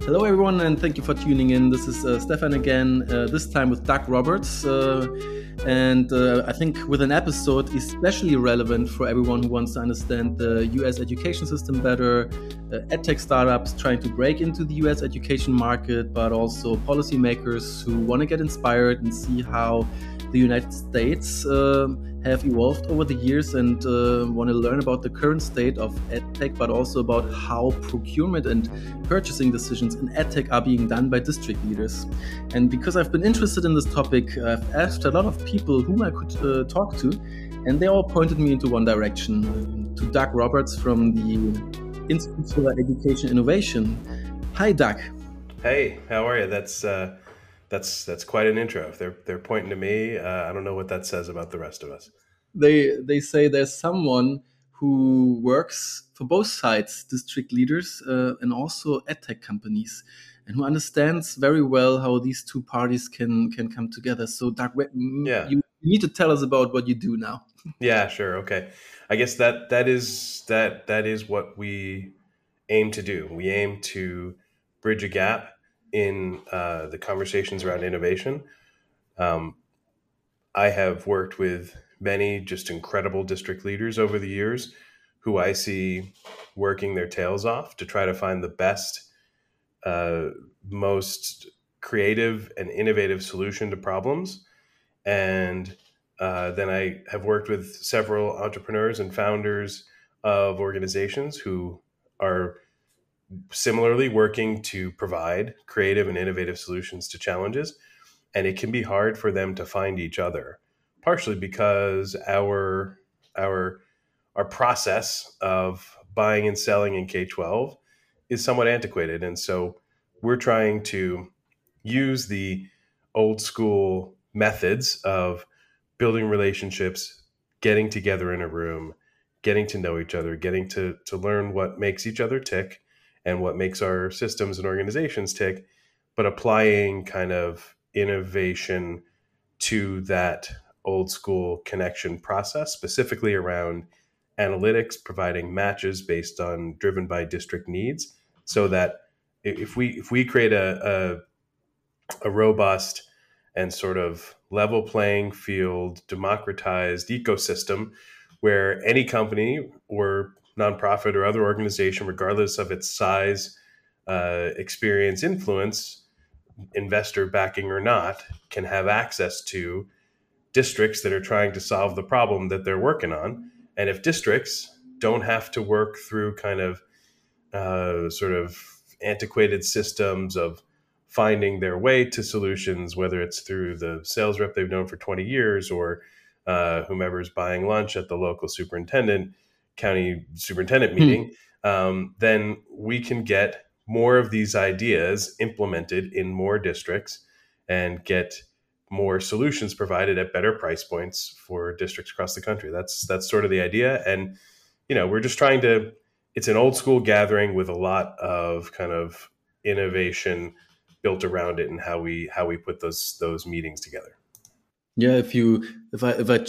Hello, everyone, and thank you for tuning in. This is Stefan again, this time with Doug Roberts. I think with an episode especially relevant for everyone who wants to understand the US education system better, edtech startups trying to break into the US education market, but also policymakers who want to get inspired and see how the United States have evolved over the years and want to learn about the current state of edtech, but also about how procurement and purchasing decisions in edtech are being done by district leaders. And because I've been interested in this topic, I've asked a lot of people whom I could talk to, and they all pointed me into one direction, to Doug Roberts from the Institute for Education Innovation. Hi, Doug. Hey, how are you? That's quite an intro. If they're pointing to me, I don't know what that says about the rest of us. They say there's someone who works for both sides, district leaders and also edtech companies, and who understands very well how these two parties can come together. So, Doug, Yeah. you need to tell us about what you do now. Yeah, sure. Okay. I guess that is what we aim to do. We aim to bridge a gap in the conversations around innovation. I have worked with many just incredible district leaders over the years who I see working their tails off to try to find the best, most creative and innovative solution to problems. And then I have worked with several entrepreneurs and founders of organizations who are similarly working to provide creative and innovative solutions to challenges. And it can be hard for them to find each other, partially because our process of buying and selling in K-12 is somewhat antiquated. And so we're trying to use the old school methods of building relationships, getting together in a room, getting to know each other, getting to learn what makes each other tick and what makes our systems and organizations tick, but applying kind of innovation to that old school connection process, specifically around analytics, providing matches based on driven by district needs, so that if we create a robust and sort of level playing field, democratized ecosystem where any company or nonprofit or other organization, regardless of its size, experience, influence, investor backing or not, can have access to districts that are trying to solve the problem that they're working on. And if districts don't have to work through kind of sort of antiquated systems of finding their way to solutions, whether it's through the sales rep they've known for 20 years or whomever's buying lunch at the local county superintendent meeting, then we can get more of these ideas implemented in more districts and get more solutions provided at better price points for districts across the country. That's sort of the idea. And, we're just trying to, it's an old school gathering with a lot of kind of innovation built around it and how we put those meetings together. Yeah, if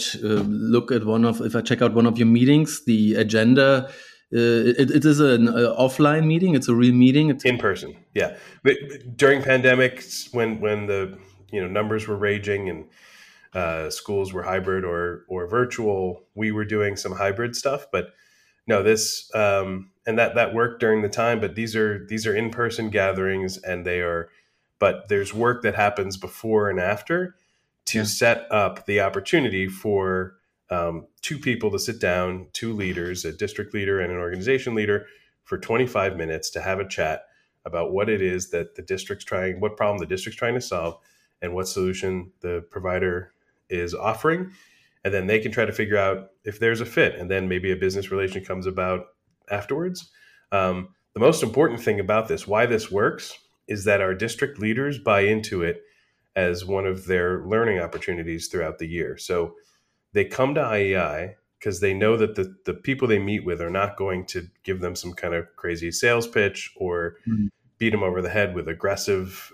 I check out one of your meetings, the agenda, it is an offline meeting. It's a real meeting. It's in person. Yeah, but during pandemics, when the numbers were raging and schools were hybrid or virtual, we were doing some hybrid stuff. But no, this and that worked during the time. But these are in person gatherings, and but there's work that happens before and after to set up the opportunity for two people to sit down, two leaders, a district leader and an organization leader, for 25 minutes to have a chat about what it is that what problem the district's trying to solve and what solution the provider is offering. And then they can try to figure out if there's a fit, and then maybe a business relation comes about afterwards. The most important thing about this, why this works, is that our district leaders buy into it as one of their learning opportunities throughout the year. So they come to IEI because they know that the people they meet with are not going to give them some kind of crazy sales pitch or beat them over the head with aggressive,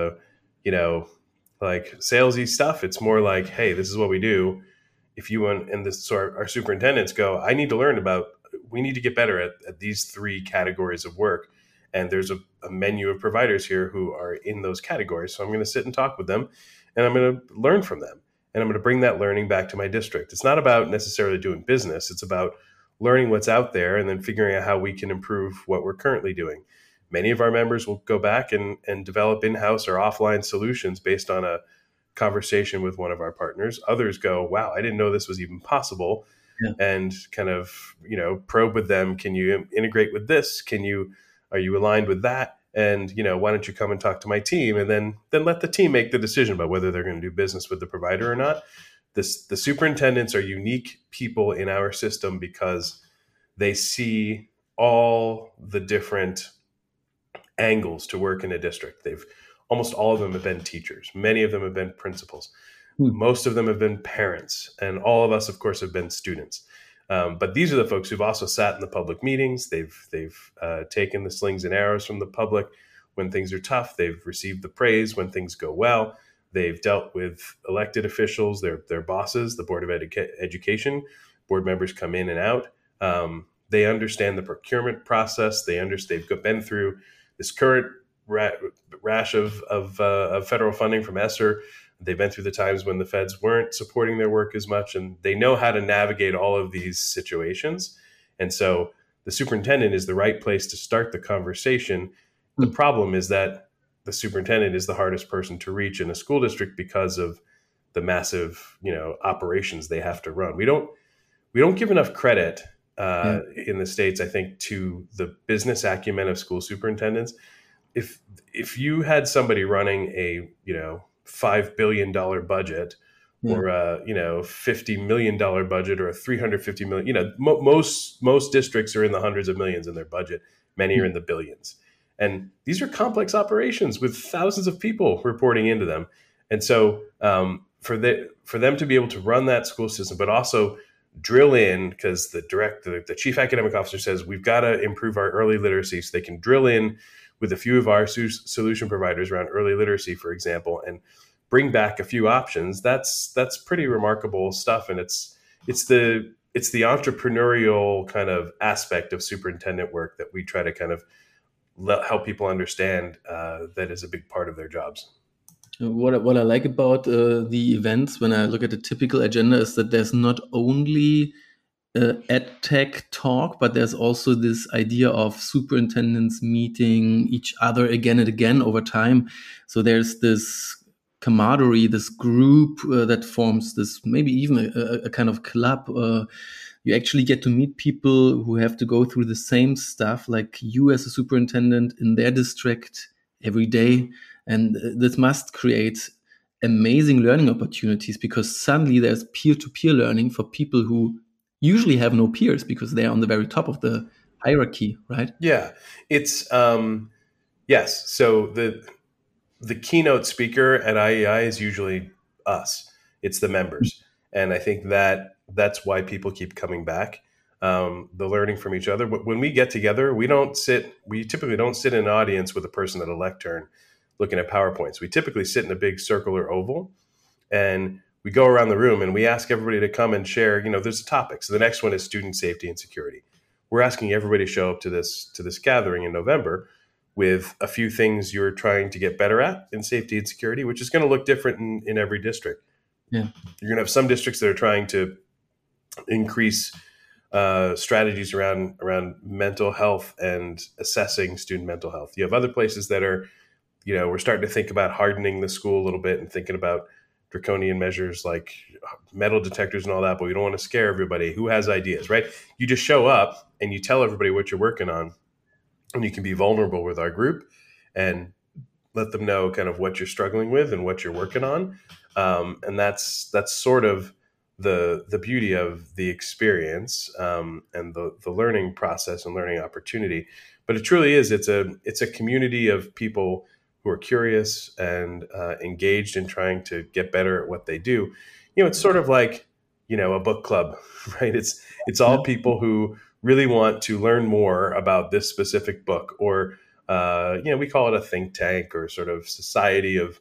like salesy stuff. It's more like, hey, this is what we do. If you want, and this, so our superintendents go, we need to get better at these three categories of work. And there's a menu of providers here who are in those categories. So I'm going to sit and talk with them, and I'm going to learn from them. And I'm going to bring that learning back to my district. It's not about necessarily doing business. It's about learning what's out there and then figuring out how we can improve what we're currently doing. Many of our members will go back and develop in-house or offline solutions based on a conversation with one of our partners. Others go, wow, I didn't know this was even possible. Yeah. And kind of, probe with them. Can you integrate with this? Are you aligned with that? And, why don't you come and talk to my team? And then let the team make the decision about whether they're going to do business with the provider or not. The superintendents are unique people in our system because they see all the different angles to work in a district. Almost all of them have been teachers. Many of them have been principals. Most of them have been parents. And all of us, of course, have been students. But these are the folks who've also sat in the public meetings. They've taken the slings and arrows from the public when things are tough. They've received the praise when things go well. They've dealt with elected officials, their bosses, the Board of Education. Board members come in and out. They understand the procurement process. They've been through this current rash of federal funding from ESSER. They've been through the times when the feds weren't supporting their work as much, and they know how to navigate all of these situations. And so the superintendent is the right place to start the conversation. The problem is that the superintendent is the hardest person to reach in a school district because of the massive, operations they have to run. We don't give enough credit in the States, I think, to the business acumen of school superintendents. If you had somebody running a, $5 billion budget or a, $50 million budget or a $350 million, most districts are in the hundreds of millions in their budget. Many are in the billions. And these are complex operations with thousands of people reporting into them. And so for them to be able to run that school system, but also drill in, because the chief academic officer says we've got to improve our early literacy, so they can drill in with a few of our solution providers around early literacy, for example, and bring back a few options. That's pretty remarkable stuff. And it's the entrepreneurial kind of aspect of superintendent work that we try to kind of help people understand that is a big part of their jobs. What I like about the events, when I look at the typical agenda, is that there's not only ed tech talk, but there's also this idea of superintendents meeting each other again and again over time. So there's this camaraderie, this group that forms this, maybe even a kind of club. You actually get to meet people who have to go through the same stuff like you as a superintendent in their district every day. And this must create amazing learning opportunities, because suddenly there's peer-to-peer learning for people who usually have no peers because they're on the very top of the hierarchy, right? Yeah, it's yes. So the keynote speaker at IEI is usually us. It's the members, and I think that's why people keep coming back. The learning from each other. When we get together, we typically don't sit in an audience with a person at a lectern looking at PowerPoints. We typically sit in a big circle or oval, and we go around the room and we ask everybody to come and share, there's a topic. So the next one is student safety and security. We're asking everybody to show up to this gathering in November with a few things you're trying to get better at in safety and security, which is going to look different in every district. Yeah. You're going to have some districts that are trying to increase strategies around mental health and assessing student mental health. You have other places that are, we're starting to think about hardening the school a little bit and thinking about draconian measures like metal detectors and all that, but we don't want to scare everybody. Who has ideas, right? You just show up and you tell everybody what you're working on, and you can be vulnerable with our group and let them know kind of what you're struggling with and what you're working on. And that's sort of the beauty of the experience and the learning process and learning opportunity. But it truly is, it's a community of people who are curious and engaged in trying to get better at what they do. It's sort of like, a book club, right? It's all people who really want to learn more about this specific book, or, we call it a think tank or sort of society of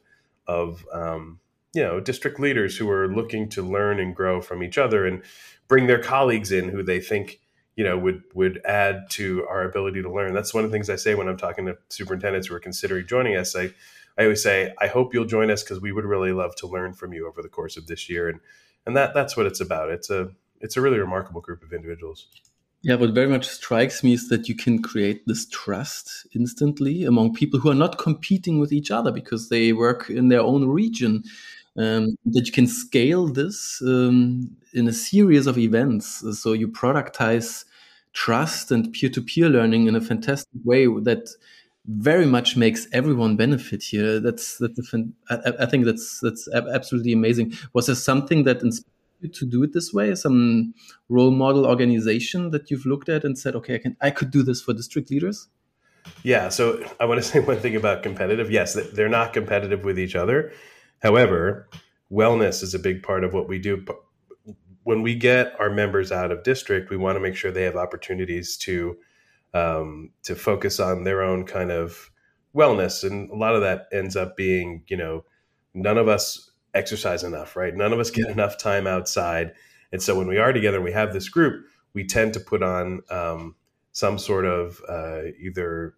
district leaders who are looking to learn and grow from each other and bring their colleagues in who they think would add to our ability to learn. That's one of the things I say when I'm talking to superintendents who are considering joining us. I always say, I hope you'll join us because we would really love to learn from you over the course of this year. And that's what it's about. It's a really remarkable group of individuals. Yeah, what very much strikes me is that you can create this trust instantly among people who are not competing with each other because they work in their own region. That you can scale this in a series of events. So you productize trust and peer-to-peer learning in a fantastic way that very much makes everyone benefit here. I think that's absolutely amazing. Was there something that inspired you to do it this way? Some role model organization that you've looked at and said, okay, I could do this for district leaders? Yeah. So I want to say one thing about competitive. Yes, they're not competitive with each other. However, wellness is a big part of what we do. When we get our members out of district, we want to make sure they have opportunities to focus on their own kind of wellness. And a lot of that ends up being, none of us exercise enough, right? None of us get enough time outside. And so when we are together and we have this group, we tend to put on some sort of either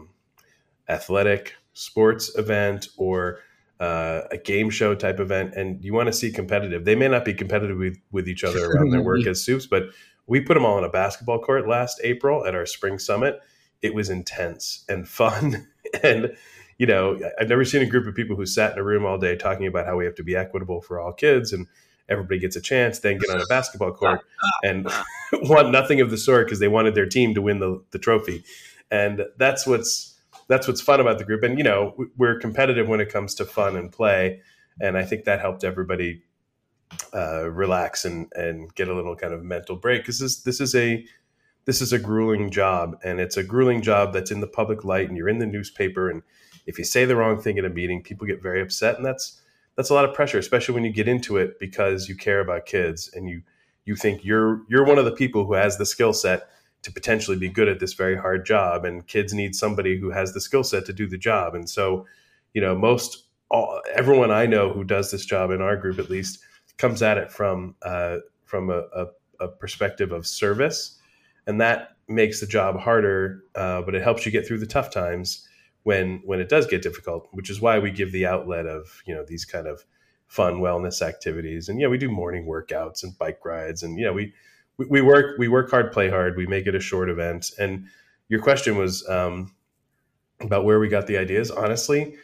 athletic sports event or a game show type event. And you want to see competitive. They may not be competitive with each other around their work as soups, but we put them all on a basketball court last April at our spring summit. It was intense and fun. And, I've never seen a group of people who sat in a room all day talking about how we have to be equitable for all kids and everybody gets a chance, then get on a basketball court and want nothing of the sort because they wanted their team to win the trophy. And that's what's fun about the group. And, we're competitive when it comes to fun and play. And I think that helped everybody relax and get a little kind of mental break. Because this is a grueling job, and it's a grueling job that's in the public light, and you're in the newspaper. And if you say the wrong thing at a meeting, people get very upset, and that's a lot of pressure, especially when you get into it because you care about kids and you think you're one of the people who has the skill set to potentially be good at this very hard job, and kids need somebody who has the skill set to do the job. And so, everyone I know who does this job in our group, at least, comes at it from a perspective of service, and that makes the job harder, but it helps you get through the tough times when it does get difficult, which is why we give the outlet of, these kind of fun wellness activities. And we do morning workouts and bike rides, and we work hard, play hard. We make it a short event. And your question was about where we got the ideas. Honestly,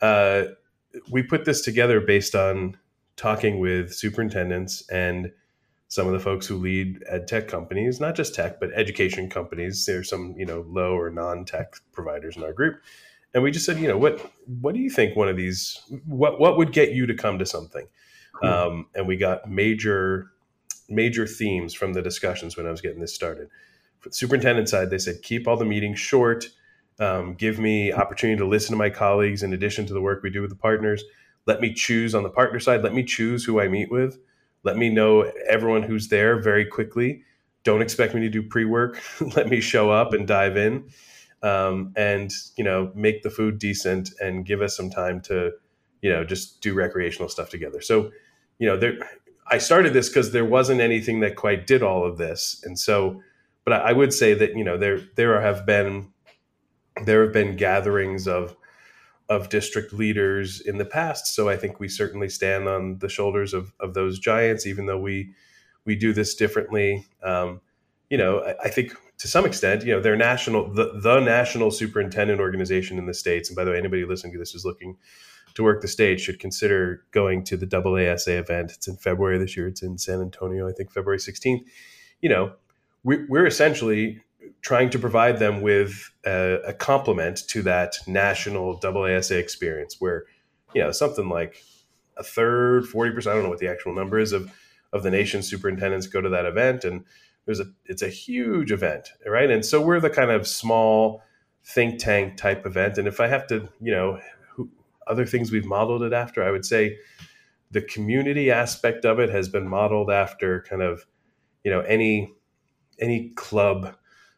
we put this together based on talking with superintendents and some of the folks who lead ed tech companies, not just tech, but education companies. There's some, low or non-tech providers in our group. And we just said, what do you think one of these, what would get you to come to something? Cool. And we got major themes from the discussions when I was getting this started. For the superintendent side, they said, keep all the meetings short, give me opportunity to listen to my colleagues in addition to the work we do with the partners. Let me choose on the partner side. Let me choose who I meet with. Let me know everyone who's there very quickly. Don't expect me to do pre-work. Let me show up and dive in. And make the food decent and give us some time to, just do recreational stuff together. So, I started this because there wasn't anything that quite did all of this. And so, but I would say that, there have been gatherings of district leaders in the past. So I think we certainly stand on the shoulders of those giants, even though we do this differently. I think to some extent, they're the national superintendent organization in the States. And by the way, anybody listening to this who's looking to work the state should consider going to the AASA event. It's in February this year. It's in San Antonio, I think February 16th. We're essentially trying to provide them with a complement to that national AASA experience where, something like a third, 40%, I don't know what the actual number is of the nation's superintendents go to that event. And it's a huge event, right? And so we're the kind of small think tank type event. And if I have to, other things we've modeled it after, I would say the community aspect of it has been modeled after kind of, any club.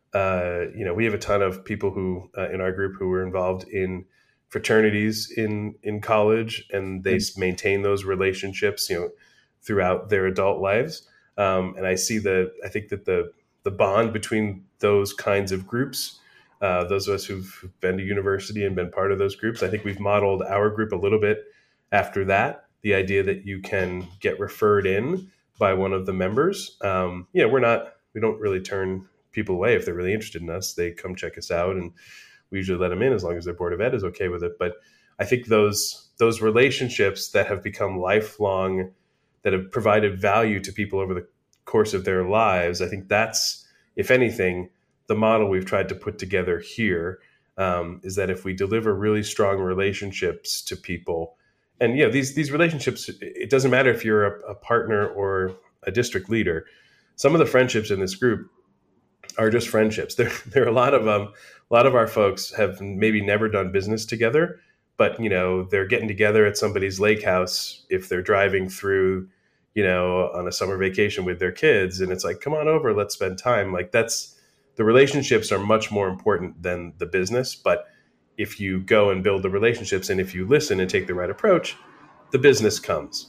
We have a ton of people who in our group who were involved in fraternities in college, and they maintain those relationships, throughout their adult lives. And I think that the bond between those kinds of groups. Those of us who've been to university and been part of those groups, I think we've modeled our group a little bit after that. The idea that you can get referred in by one of the members. We don't really turn people away if they're really interested in us. They come check us out, and we usually let them in as long as their board of ed is okay with it. But I think those relationships that have become lifelong, that have provided value to people over the course of their lives, I think that's, if anything, the model we've tried to put together here, is that if we deliver really strong relationships to people, and these relationships, it doesn't matter if you're a partner or a district leader. Some of the friendships in this group are just friendships. There are a lot of our folks have maybe never done business together, but they're getting together at somebody's lake house if they're driving through, on a summer vacation with their kids, and it's like, come on over, let's spend time. Like, that's, the relationships are much more important than the business. But if you go and build the relationships, and if you listen and take the right approach, the business comes.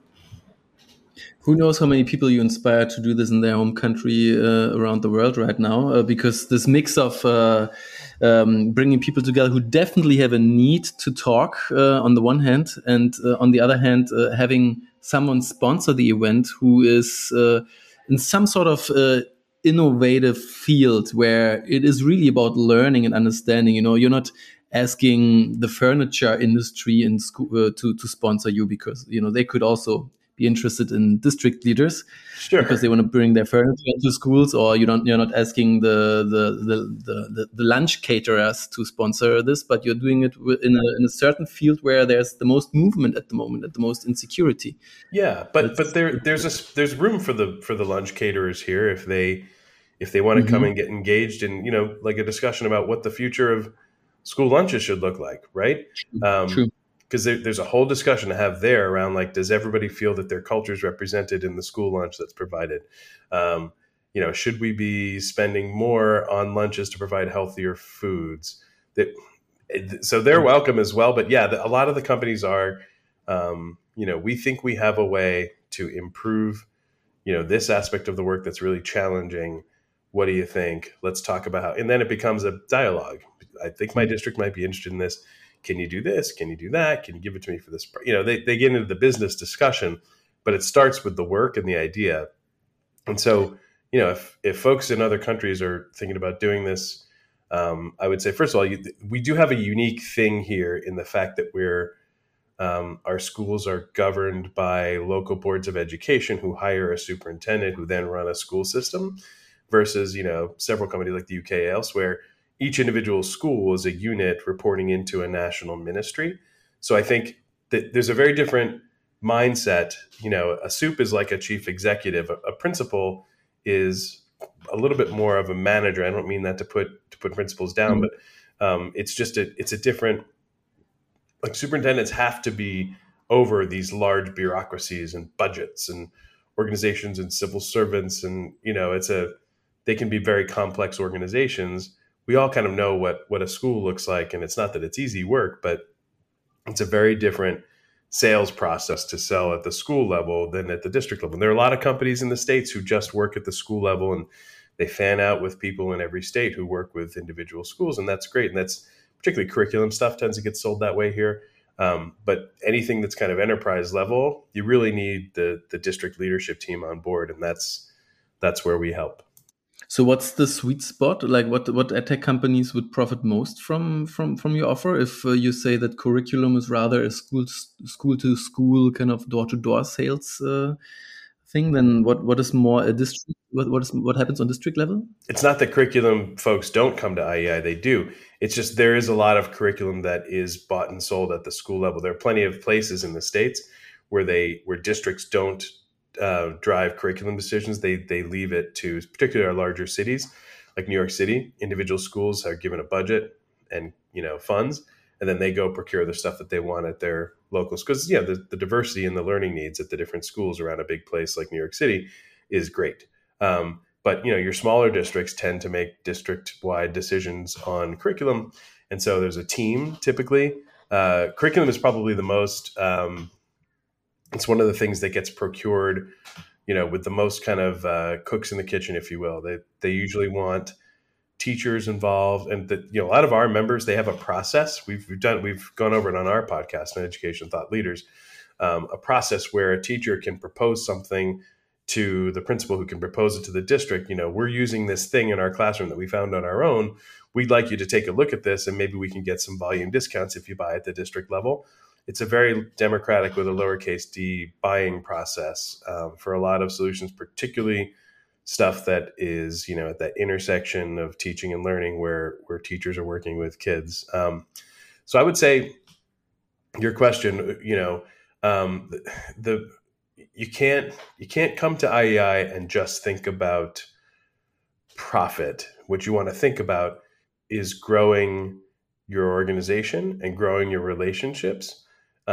Who knows how many people you inspire to do this in their home country around the world right now, because this mix of bringing people together who definitely have a need to talk on the one hand, and on the other hand, having someone sponsor the event who is in some sort of innovative field where it is really about learning and understanding. You're not asking the furniture industry in school to sponsor you, because they could also be interested in district leaders, sure, because they want to bring their furniture into schools. Or you're not asking the lunch caterers to sponsor this, but you're doing it in a certain field where there's the most movement at the moment, at the most insecurity. Yeah, but there's room for the lunch caterers here if they want to come and get engaged in like a discussion about what the future of school lunches should look like, right? True. Because there's a whole discussion to have there around, like, does everybody feel that their culture is represented in the school lunch that's provided? Should we be spending more on lunches to provide healthier foods? So they're welcome as well. But a lot of the companies are, we think we have a way to improve, this aspect of the work that's really challenging. What do you think? Let's talk about how, and then it becomes a dialogue. I think my district might be interested in this. Can you do this? Can you do that? Can you give it to me for this? They get into the business discussion, but it starts with the work and the idea. And so, if folks in other countries are thinking about doing this, I would say, first of all, we do have a unique thing here in the fact that our schools are governed by local boards of education who hire a superintendent who then run a school system, versus, several companies like the UK elsewhere. Each individual school is a unit reporting into a national ministry. So I think that there's a very different mindset. A SUP is like a chief executive. A principal is a little bit more of a manager. I don't mean that to put principals down, but it's a different, like, superintendents have to be over these large bureaucracies and budgets and organizations and civil servants. And, they can be very complex organizations. We all kind of know what a school looks like, and it's not that it's easy work, but it's a very different sales process to sell at the school level than at the district level. And there are a lot of companies in the States who just work at the school level, and they fan out with people in every state who work with individual schools, and that's great. And that's particularly curriculum stuff tends to get sold that way here. But anything that's kind of enterprise level, you really need the district leadership team on board, and that's where we help. So what's the sweet spot? Like, what edtech companies would profit most from your offer? If you say that curriculum is rather a school to school kind of door to door sales thing, then what is more a district? What happens on district level? It's not that curriculum folks don't come to IEI; they do. It's just there is a lot of curriculum that is bought and sold at the school level. There are plenty of places in the States where districts don't drive curriculum decisions. They leave it to particularly our larger cities like New York City. Individual schools are given a budget and funds, and then they go procure the stuff that they want at their local schools. The diversity and the learning needs at the different schools around a big place like New York City is great. But your smaller districts tend to make district-wide decisions on curriculum, and so there's a team typically. Curriculum is probably the most. It's one of the things that gets procured with the most kind of cooks in the kitchen, if you will. They usually want teachers involved, and a lot of our members, they have a process. We've gone over it on our podcast on Education Thought Leaders, a process where a teacher can propose something to the principal, who can propose it to the district. We're using this thing in our classroom that we found on our own. We'd like you to take a look at this, and maybe we can get some volume discounts if you buy at the district level. It's a very democratic, with a lowercase d, buying process for a lot of solutions, particularly stuff that is, at that intersection of teaching and learning, where teachers are working with kids. So I would say your question, you can't come to IEI and just think about profit. What you want to think about is growing your organization and growing your relationships,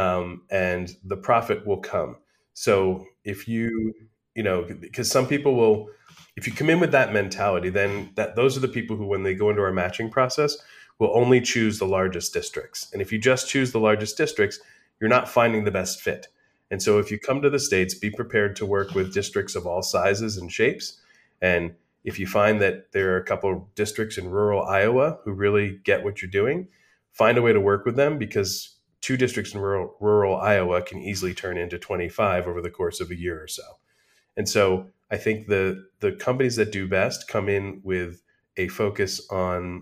and the profit will come. So if because some people will, if you come in with that mentality, then those are the people who, when they go into our matching process, will only choose the largest districts. And if you just choose the largest districts, you're not finding the best fit. And so if you come to the States, be prepared to work with districts of all sizes and shapes. And if you find that there are a couple of districts in rural Iowa who really get what you're doing, find a way to work with them, because 2 districts in rural Iowa can easily turn into 25 over the course of a year or so. And so I think the companies that do best come in with a focus on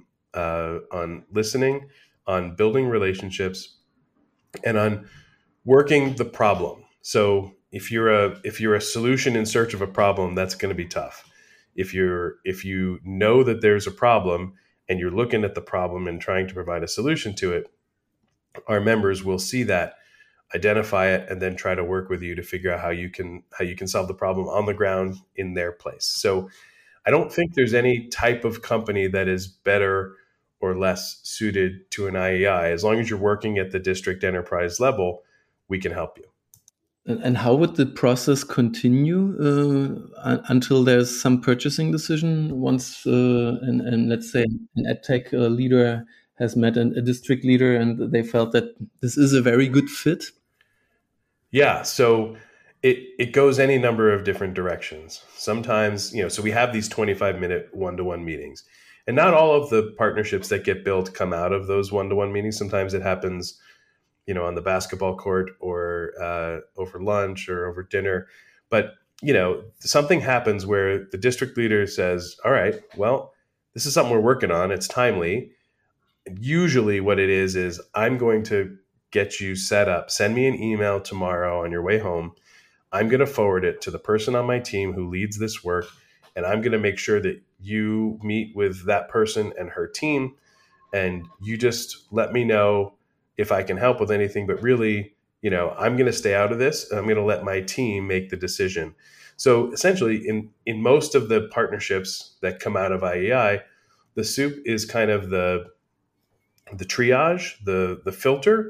listening, on building relationships, and on working the problem. So if you're a solution in search of a problem, that's going to be tough. If you know that there's a problem and you're looking at the problem and trying to provide a solution to it, our members will see that, identify it, and then try to work with you to figure out how you can solve the problem on the ground in their place. So I don't think there's any type of company that is better or less suited to an IEI. As long as you're working at the district enterprise level, we can help you. And how would the process continue until there's some purchasing decision? Once, and let's say an EdTech leader has met a district leader and they felt that this is a very good fit? Yeah, so it goes any number of different directions. Sometimes, so we have these 25-minute one-to-one meetings, and not all of the partnerships that get built come out of those one-to-one meetings. Sometimes it happens, on the basketball court, or over lunch, or over dinner. But, something happens where the district leader says, all right, well, this is something we're working on. It's timely. Usually what it is I'm going to get you set up. Send me an email tomorrow on your way home. I'm going to forward it to the person on my team who leads this work, and I'm going to make sure that you meet with that person and her team, and you just let me know if I can help with anything. But really, I'm going to stay out of this, and I'm going to let my team make the decision. So essentially, in most of the partnerships that come out of IEI, the soup is kind of the triage, the filter,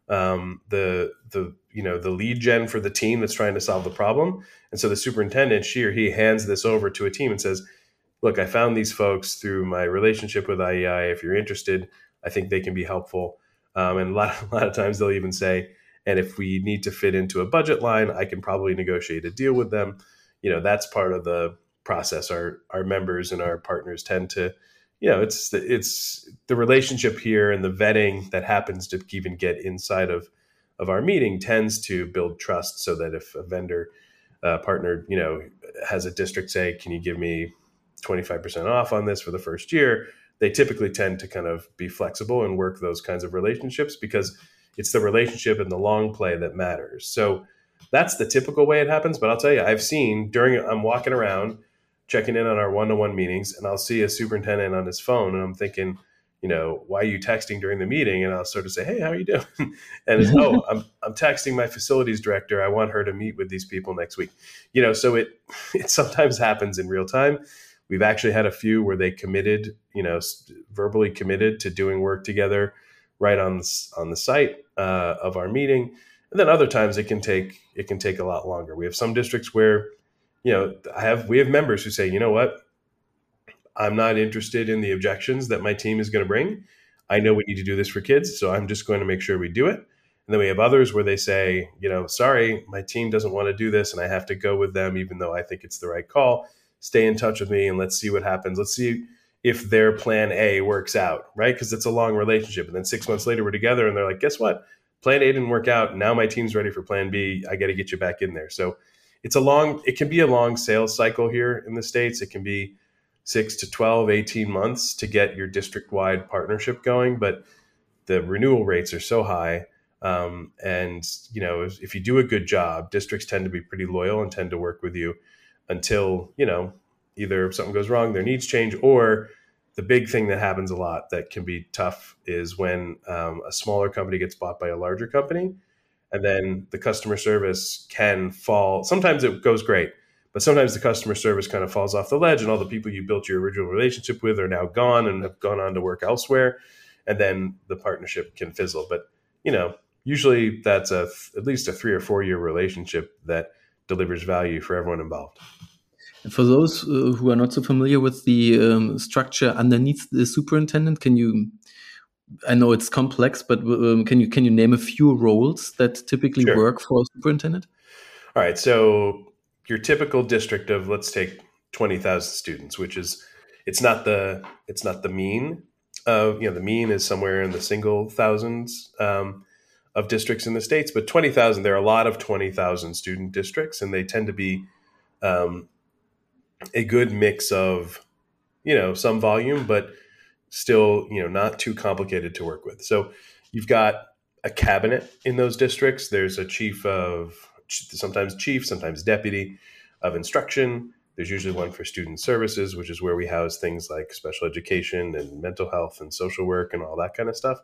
the lead gen for the team that's trying to solve the problem. And so the superintendent, she or he, hands this over to a team and says, look, I found these folks through my relationship with IEI. If you're interested, I think they can be helpful. And a lot of times they'll even say, and if we need to fit into a budget line, I can probably negotiate a deal with them. That's part of the process. Our members and our partners tend to, it's the relationship here, and the vetting that happens to even get inside of our meeting tends to build trust, so that if a vendor partner, has a district say, can you give me 25% off on this for the first year? They typically tend to kind of be flexible and work those kinds of relationships, because it's the relationship and the long play that matters. So that's the typical way it happens. But I'll tell you, I've seen I'm walking around checking in on our one-to-one meetings, and I'll see a superintendent on his phone, and I'm thinking, why are you texting during the meeting? And I'll sort of say, hey, how are you doing? And it's, I'm texting my facilities director. I want her to meet with these people next week. So it sometimes happens in real time. We've actually had a few where they committed, verbally committed to doing work together right on the site of our meeting. And then other times it can take a lot longer. We have some districts where, we have members who say, you know what, I'm not interested in the objections that my team is going to bring. I know we need to do this for kids, so I'm just going to make sure we do it. And And then we have others where they say, sorry, my team doesn't want to do this and I have to go with them, even though I think it's the right call. Stay in touch with me and let's see what happens. Let's see if their plan A works out, right? Because it's a long relationship. And then 6 months later, we're together and they're like, guess what? Plan A didn't work out. Now my team's ready for plan B. I got to get you back in there. So it can be a long sales cycle here in the States. It can be 6 to 12, 18 months to get your district-wide partnership going. But the renewal rates are so high. And if you do a good job, districts tend to be pretty loyal and tend to work with you until, either something goes wrong, their needs change, or the big thing that happens a lot that can be tough is when a smaller company gets bought by a larger company, and then the customer service can fall. Sometimes it goes great, but sometimes the customer service kind of falls off the ledge and all the people you built your original relationship with are now gone and have gone on to work elsewhere. And then the partnership can fizzle. But, usually that's at least a 3 or 4 year relationship that delivers value for everyone involved. And for those who are not so familiar with the structure underneath the superintendent, I know it's complex, but can you name a few roles that typically Sure. work for a superintendent? All right. So your typical district of, let's take 20,000 students, which is, it's not the mean. The mean is somewhere in the single thousands of districts in the States, but 20,000, there are a lot of 20,000 student districts, and they tend to be a good mix of, some volume, but still, not too complicated to work with. So you've got a cabinet in those districts. There's a sometimes chief, sometimes deputy of instruction. There's usually one for student services, which is where we house things like special education and mental health and social work and all that kind of stuff.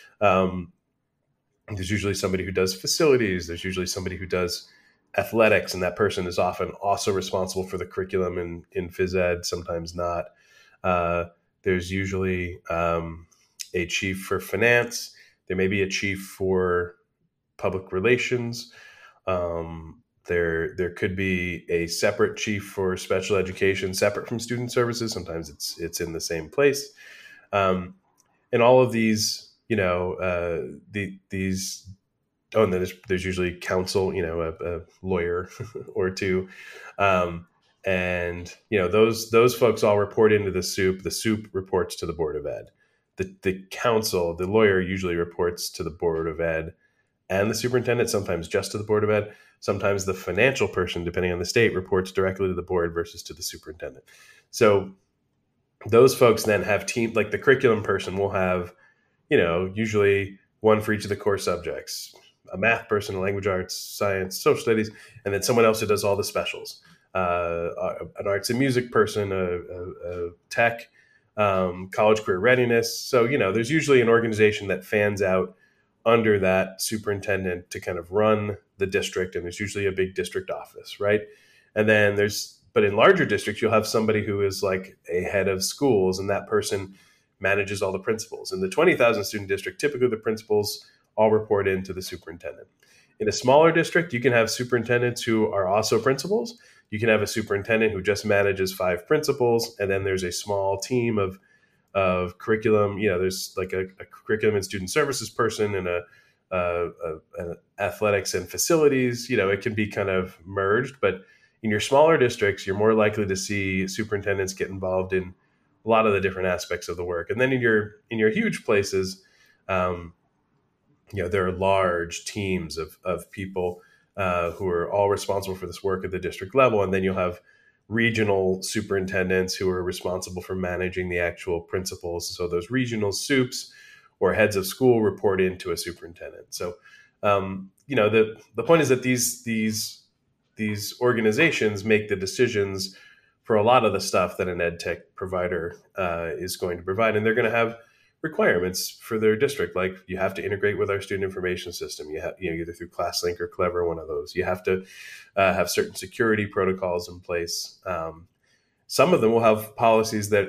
There's usually somebody who does facilities. There's usually somebody who does athletics, and that person is often also responsible for the curriculum in phys ed, sometimes not. There's usually a chief for finance. There may be a chief for public relations. There could be a separate chief for special education, separate from student services. Sometimes it's in the same place. And all of these, and then there's usually counsel, a lawyer or two. And those folks all report into the soup. The soup reports to the Board of Ed. The counsel, the lawyer, usually reports to the Board of Ed and the superintendent, sometimes just to the Board of Ed. Sometimes the financial person, depending on the state, reports directly to the board versus to the superintendent. So those folks then have team, like the curriculum person will have, usually one for each of the core subjects, a math person, a language arts, science, social studies, and then someone else who does all the specials, an arts and music person, a tech, college career readiness. So, there's usually an organization that fans out under that superintendent to kind of run the district. And there's usually a big district office, right? And then but in larger districts, you'll have somebody who is like a head of schools, and that person manages all the principals. In the 20,000 student district, typically the principals all report into the superintendent. In a smaller district, you can have superintendents who are also principals. You can have a superintendent who just manages 5 principals, and then there's a small team of curriculum. There's like a curriculum and student services person and an athletics and facilities. It can be kind of merged, but in your smaller districts, you're more likely to see superintendents get involved in a lot of the different aspects of the work. And then in your huge places, there are large teams of people who are all responsible for this work at the district level. And then you'll have regional superintendents who are responsible for managing the actual principals. So those regional soups or heads of school report into a superintendent. So, the point is that these organizations make the decisions for a lot of the stuff that an ed tech provider is going to provide. And they're going to have requirements for their district. Like, you have to integrate with our student information system. You have, either through ClassLink or Clever, one of those. You have to have certain security protocols in place. Some of them will have policies that,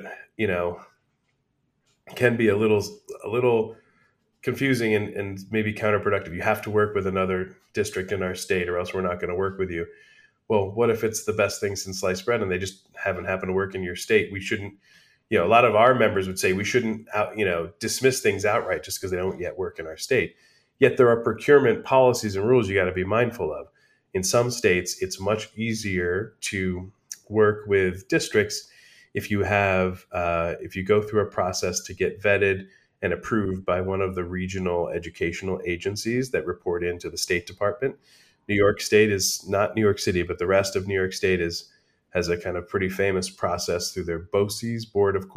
can be a little confusing and maybe counterproductive. You have to work with another district in our state, or else we're not going to work with you. Well, what if it's the best thing since sliced bread and they just haven't happened to work in your state? We shouldn't, a lot of our members would say we shouldn't, dismiss things outright just because they don't yet work in our state. Yet there are procurement policies and rules you got to be mindful of. In some states, it's much easier to work with districts if you go through a process to get vetted and approved by one of the regional educational agencies that report into the State Department. New York State is not New York City, but the rest of New York State has a kind of pretty famous process through their BOCES, Board of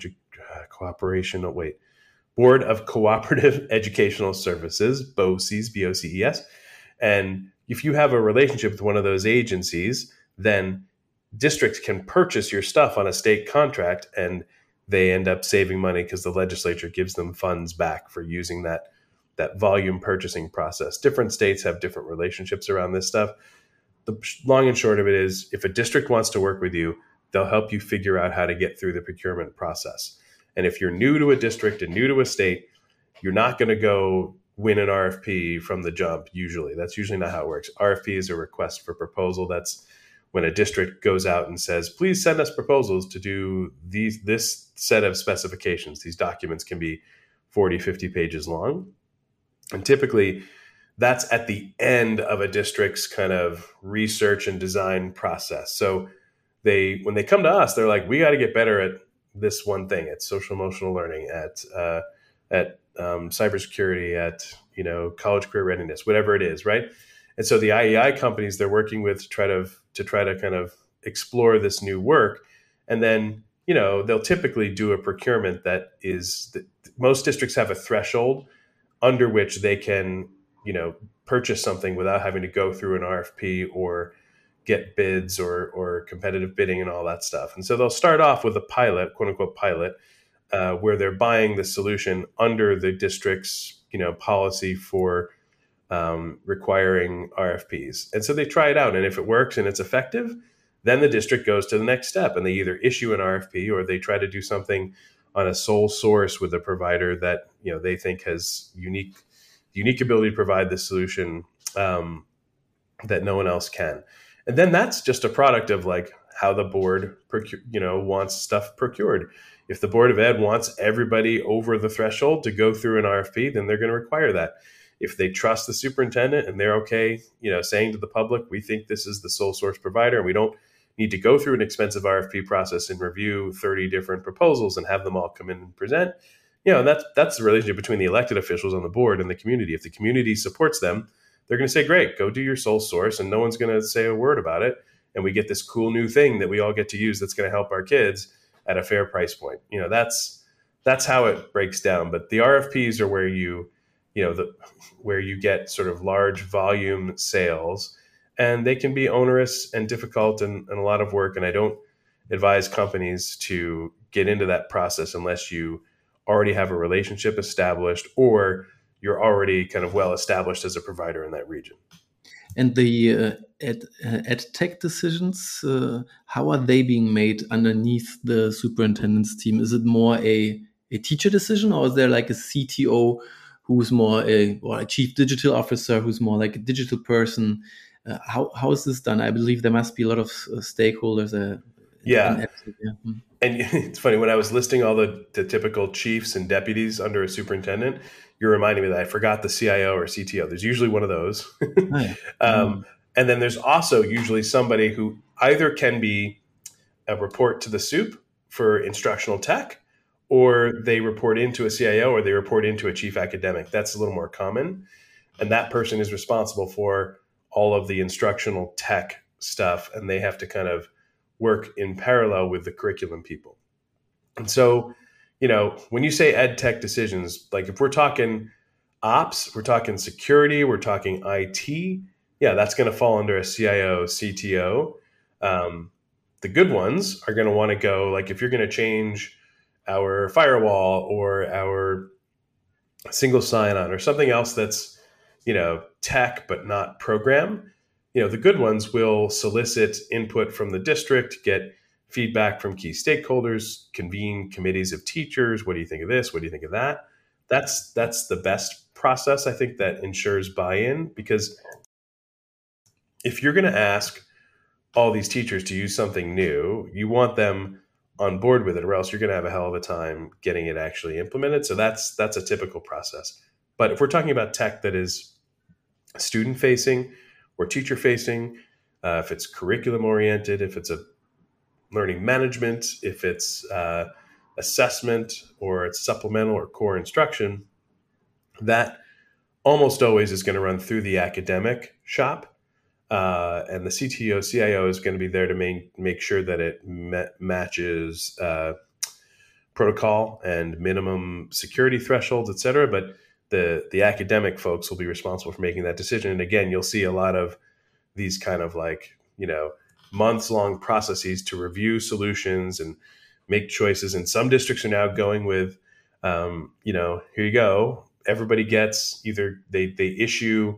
Cooperative Educational Services, BOCES, BOCES. And if you have a relationship with one of those agencies, then districts can purchase your stuff on a state contract, and they end up saving money because the legislature gives them funds back for using that volume purchasing process. Different states have different relationships around this stuff. The long and short of it is, if a district wants to work with you, they'll help you figure out how to get through the procurement process. And if you're new to a district and new to a state, you're not going to go win an RFP from the jump. Usually, that's usually not how it works. RFP is a request for proposal. That's when a district goes out and says, please send us proposals to do this set of specifications. These documents can be 40, 50 pages long. And typically, that's at the end of a district's kind of research and design process. So when they come to us, they're like, we got to get better at this one thing, at social emotional learning, at cybersecurity, at college career readiness, whatever it is, right? And so the IEI companies they're working with to try to kind of explore this new work, and then they'll typically do a procurement most districts have a threshold under which they can purchase something without having to go through an RFP or get bids or competitive bidding and all that stuff. And so they'll start off with a pilot, quote unquote pilot, where they're buying the solution under the district's policy for requiring RFPs. And so they try it out, and if it works and it's effective, then the district goes to the next step, and they either issue an RFP or they try to do something on a sole source with a provider that they think has unique ability to provide the solution that no one else can. And then that's just a product of like how the board wants stuff procured. If the Board of Ed wants everybody over the threshold to go through an RFP, then they're going to require that. If they trust the superintendent and they're okay, saying to the public, we think this is the sole source provider and we don't need to go through an expensive RFP process and review 30 different proposals and have them all come in and present, that's the relationship between the elected officials on the board and the community. If the community supports them, they're going to say, great, go do your sole source, and no one's going to say a word about it. And we get this cool new thing that we all get to use that's going to help our kids at a fair price point. That's how it breaks down. But the RFPs are where where you get sort of large volume sales, and they can be onerous and difficult and a lot of work. And I don't advise companies to get into that process unless you already have a relationship established or you're already kind of well established as a provider in that region. And the ed tech decisions, how are they being made underneath the superintendent's team? Is it more a teacher decision, or is there like a CTO who's more or a chief digital officer who's more like a digital person? How is this done? I believe there must be a lot of stakeholders. Yeah. And it's funny, when I was listing all the typical chiefs and deputies under a superintendent, you're reminding me that I forgot the CIO or CTO. There's usually one of those. And then there's also usually somebody who either can be a report to the soup for instructional tech, or they report into a CIO, or they report into a chief academic. That's a little more common. And that person is responsible for all of the instructional tech stuff, and they have to kind of work in parallel with the curriculum people. And so, when you say ed tech decisions, like if we're talking ops, we're talking security, we're talking IT, that's going to fall under a CIO, CTO. The good ones are going to want to go, like if you're going to change our firewall or our single sign-on or something else that's, tech but not program, the good ones will solicit input from the district, get feedback from key stakeholders, convene committees of teachers. What do you think of this? What do you think of that? That's the best process, I think, that ensures buy-in, because if you're going to ask all these teachers to use something new, you want them on board with it, or else you're going to have a hell of a time getting it actually implemented. So that's a typical process. But if we're talking about tech that is student facing or teacher facing, if it's curriculum oriented, if it's a learning management, if it's assessment, or it's supplemental or core instruction, that almost always is going to run through the academic shop. And the CTO, CIO is going to be there to make sure that it matches protocol and minimum security thresholds, et cetera. But the academic folks will be responsible for making that decision. And again, you'll see a lot of these kind of months long processes to review solutions and make choices. And some districts are now going with, here you go. Everybody gets either they issue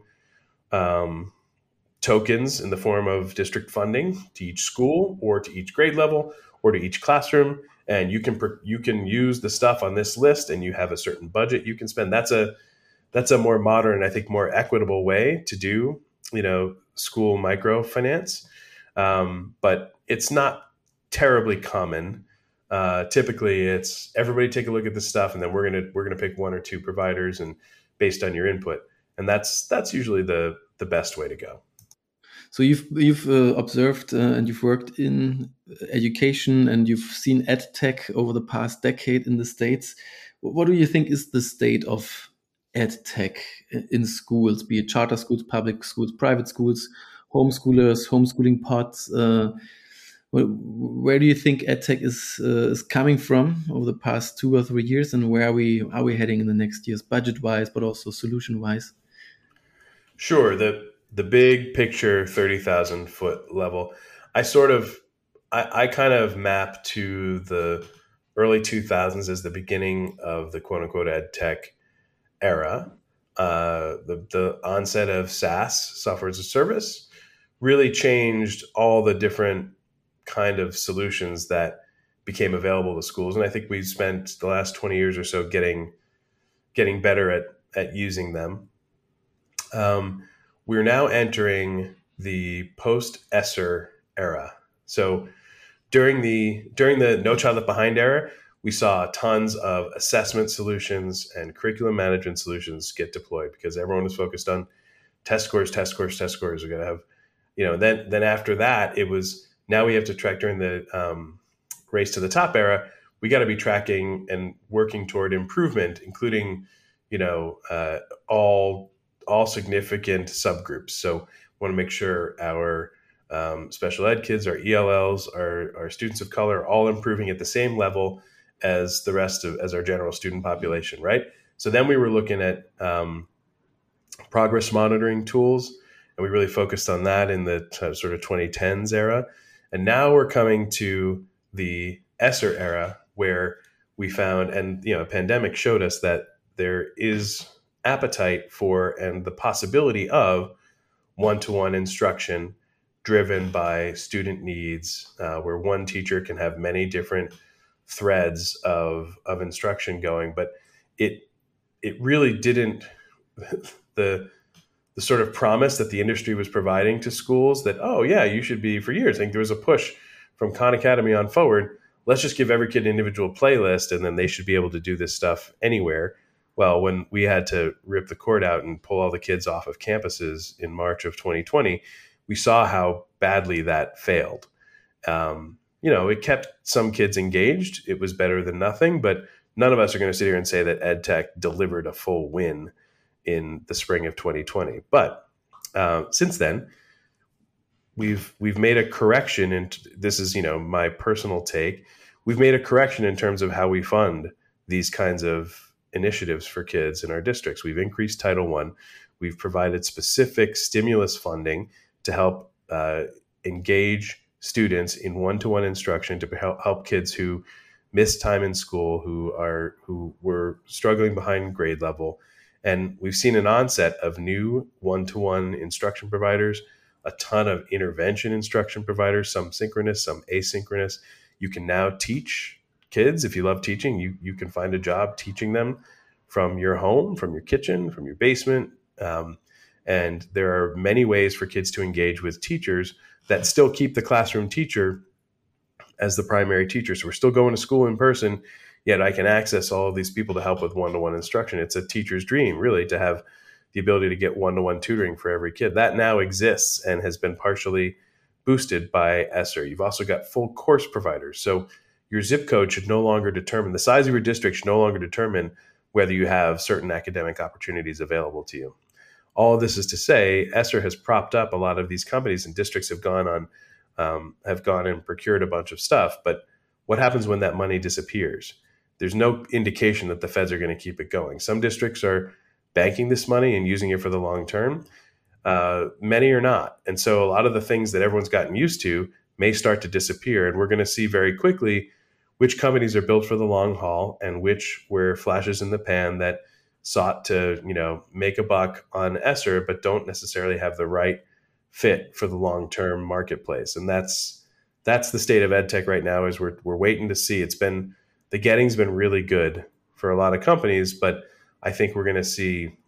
tokens in the form of district funding to each school or to each grade level or to each classroom. And you can use the stuff on this list, and you have a certain budget you can spend. That's a more modern, I think, more equitable way to do, school microfinance. But it's not terribly common. Typically, it's everybody take a look at this stuff, and then we're gonna pick one or two providers, and based on your input, and that's usually the best way to go. So you've observed and you've worked in education, and you've seen ed tech over the past decade in the States. What do you think is the state of ed tech in schools, be it charter schools, public schools, private schools, homeschoolers, homeschooling pods? Where do you think ed tech is coming from over the past 2 or 3 years, and where are we heading in the next years, budget wise, but also solution wise? Sure. The big picture, 30,000 foot level, I kind of map to the early 2000s as the beginning of the quote unquote ed tech era. The onset of SaaS, software as a service, really changed all the different kind of solutions that became available to schools. And I think we've spent the last 20 years or so getting better at using them. We're now entering the post-ESSER era. So during the No Child Left Behind era, we saw tons of assessment solutions and curriculum management solutions get deployed because everyone was focused on test scores. We're going to have, then after that, it was, now we have to track during the race to the top era. We got to be tracking and working toward improvement, including, all significant subgroups. So want to make sure our special ed kids, our ELLs, our students of color, are all improving at the same level as the rest of, as our general student population, right? So then we were looking at progress monitoring tools, and we really focused on that in the sort of 2010s era. And now we're coming to the ESSER era, where we found, and a pandemic showed us that there is appetite for and the possibility of one-to-one instruction driven by student needs, where one teacher can have many different threads of instruction going. But it really didn't, the sort of promise that the industry was providing to schools that, oh yeah, you should be, for years, I think there was a push from Khan Academy on forward, let's just give every kid an individual playlist and then they should be able to do this stuff anywhere. Well, when we had to rip the cord out and pull all the kids off of campuses in March of 2020, we saw how badly that failed. It kept some kids engaged. It was better than nothing, but none of us are going to sit here and say that ed tech delivered a full win in the spring of 2020. But since then, we've made a correction, and this is my personal take. We've made a correction in terms of how we fund these kinds of initiatives for kids in our districts. We've increased Title I. We've provided specific stimulus funding to help engage students in one-to-one instruction to help kids who miss time in school, who were struggling behind grade level. And we've seen an onset of new one-to-one instruction providers, a ton of intervention instruction providers, some synchronous, some asynchronous. You can now teach kids. If you love teaching, you can find a job teaching them from your home, from your kitchen, from your basement. And there are many ways for kids to engage with teachers that still keep the classroom teacher as the primary teacher. So we're still going to school in person. yet I can access all of these people to help with one-to-one instruction. It's a teacher's dream, really, to have the ability to get one-to-one tutoring for every kid. That now exists and has been partially boosted by ESSER. You've also got full course providers. So your zip code should no longer determine, the size of your district should no longer determine whether you have certain academic opportunities available to you. All of this is to say, ESSER has propped up a lot of these companies, and districts have gone and procured a bunch of stuff. But what happens when that money disappears? There's no indication that the feds are going to keep it going. Some districts are banking this money and using it for the long term. Many are not. And so a lot of the things that everyone's gotten used to may start to disappear. And we're going to see very quickly which companies are built for the long haul and which were flashes in the pan that sought to, make a buck on ESSER, but don't necessarily have the right fit for the long-term marketplace. And that's the state of EdTech right now. Is we're waiting to see. The getting's been really good for a lot of companies, but I think we're going to see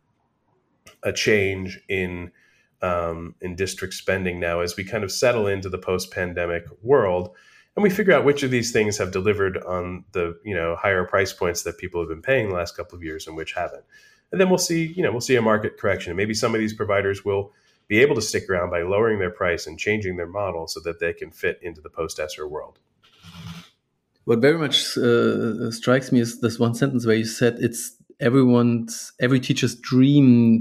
a change in district spending now as we kind of settle into the post-pandemic world, and we figure out which of these things have delivered on the higher price points that people have been paying the last couple of years and which haven't. And then we'll see a market correction. Maybe some of these providers will be able to stick around by lowering their price and changing their model so that they can fit into the post-ESSER world. What very much strikes me is this one sentence where you said it's every teacher's dream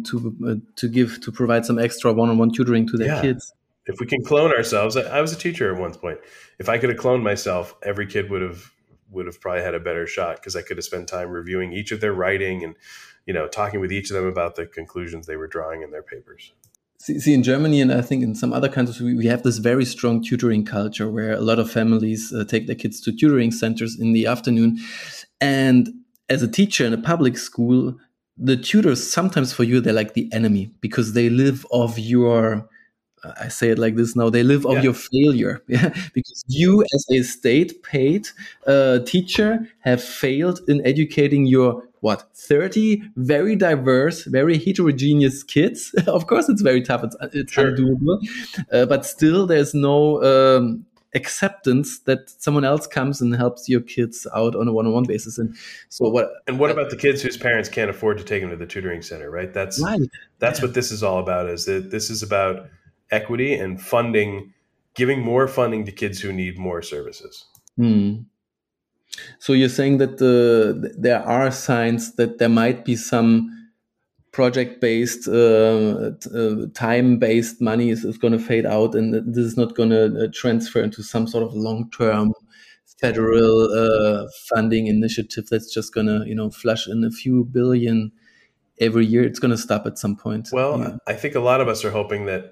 to provide some extra one-on-one tutoring to their kids. If we can clone ourselves, I was a teacher at one point. If I could have cloned myself, every kid would have probably had a better shot, because I could have spent time reviewing each of their writing and talking with each of them about the conclusions they were drawing in their papers. See, in Germany, and I think in some other countries, we have this very strong tutoring culture where a lot of families take their kids to tutoring centers in the afternoon. And as a teacher in a public school, the tutors, sometimes for you, they're like the enemy, because they live off your, I say it like this now, they live off your failure. Because you as a state paid teacher have failed in educating your 30 very diverse, very heterogeneous kids. Of course, it's very tough. It's sure. Undoable. But still, there's no acceptance that someone else comes and helps your kids out on a one-on-one basis. And so what? And what about the kids whose parents can't afford to take them to the tutoring center? Right. That's what this is all about. Is that this is about equity and funding, giving more funding to kids who need more services. So you're saying that there are signs that there might be some project-based, time-based money is going to fade out, and this is not going to transfer into some sort of long-term federal funding initiative that's just going to, flush in a few billion every year. It's going to stop at some point. Well, I think a lot of us are hoping that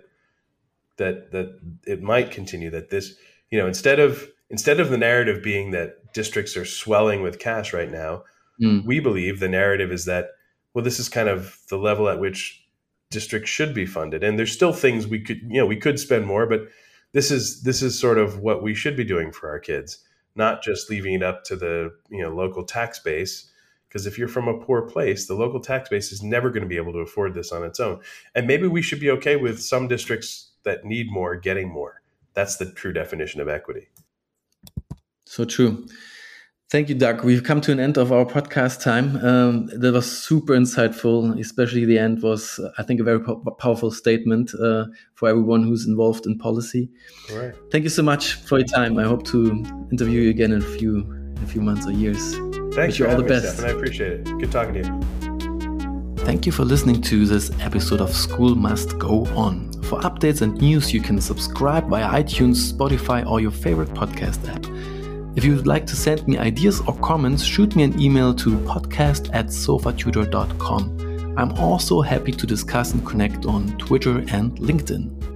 it might continue, that this, instead of the narrative being that districts are swelling with cash right now, we believe the narrative is that, well, this is kind of the level at which districts should be funded. And there's still things we could spend more, but this is sort of what we should be doing for our kids, not just leaving it up to the, local tax base. Because if you're from a poor place, the local tax base is never going to be able to afford this on its own. And maybe we should be okay with some districts that need more getting more. That's the true definition of equity. So true. Thank you, Doug. We've come to an end of our podcast time. That was super insightful. Especially the end was, I think, a very powerful statement for everyone who's involved in policy. All right. Thank you so much for your time. I hope to interview you again in a few months or years. Thanks. Wish you all the best. Stefan. I appreciate it. Good talking to you. Thank you for listening to this episode of School Must Go On. For updates and news, you can subscribe via iTunes, Spotify, or your favorite podcast app. If you would like to send me ideas or comments, shoot me an email to podcast@sofatutor.com. I'm also happy to discuss and connect on Twitter and LinkedIn.